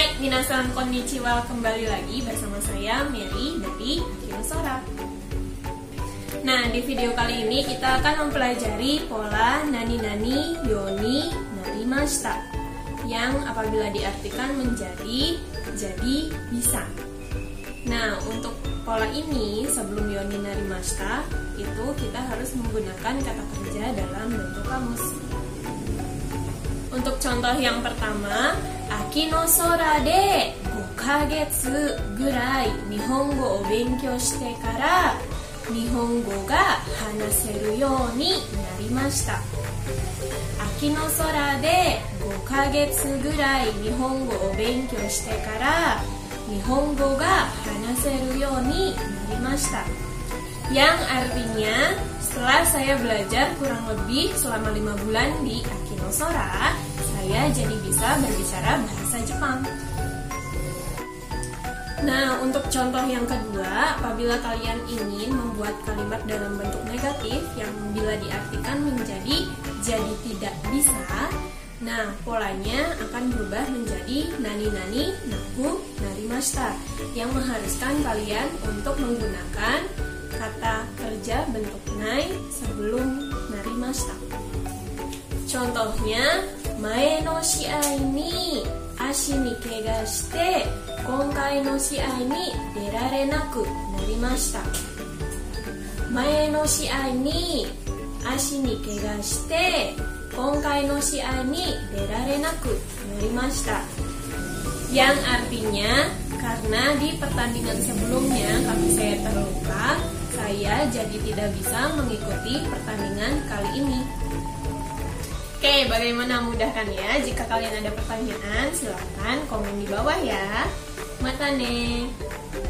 Hai, minasan konnichiwa, kembali lagi bersama saya Mary dari Akino Sora. Nah, di video kali ini kita akan mempelajari pola nani-nani yoni narimashita yang apabila diartikan menjadi, jadi, bisa. Nah, untuk pola ini sebelum yoni narimashita itu kita harus menggunakan kata kerja dalam bentuk kamus. Untuk contoh yang pertama, Aki no sora de 5ヶ月ぐらい日本語を勉強してから日本語が話せるようになりました。秋の空で5ヶ月ぐらい日本語を勉強してから日本語が話せるようになりました。Yang artinya setelah saya belajar kurang lebih selama 5 bulan di Akino Sora, saya jadi bisa berbicara bahasa Jepang. Nah, untuk contoh yang kedua, apabila kalian ingin membuat kalimat dalam bentuk negatif yang bila diartikan menjadi jadi tidak bisa, nah polanya akan berubah menjadi nani-nani naku narimashita yang mengharuskan kalian untuk menggunakan kata kerja bentuk nai sebelum narimashita. Contohnya, mae no shiai ni ashi ni kega shite konkai no shiai ni derare naku narimashita. Mae no shiai ni ashi ni kega shite konkai no shiai ni derare naku narimashita. Yang artinya, karena di pertandingan sebelumnya kaki saya terluka, saya jadi tidak bisa mengikuti pertandingan kali ini. Oke, bagaimana, mudah kan ya? Jika kalian ada pertanyaan, silahkan komen di bawah ya. Mata ne.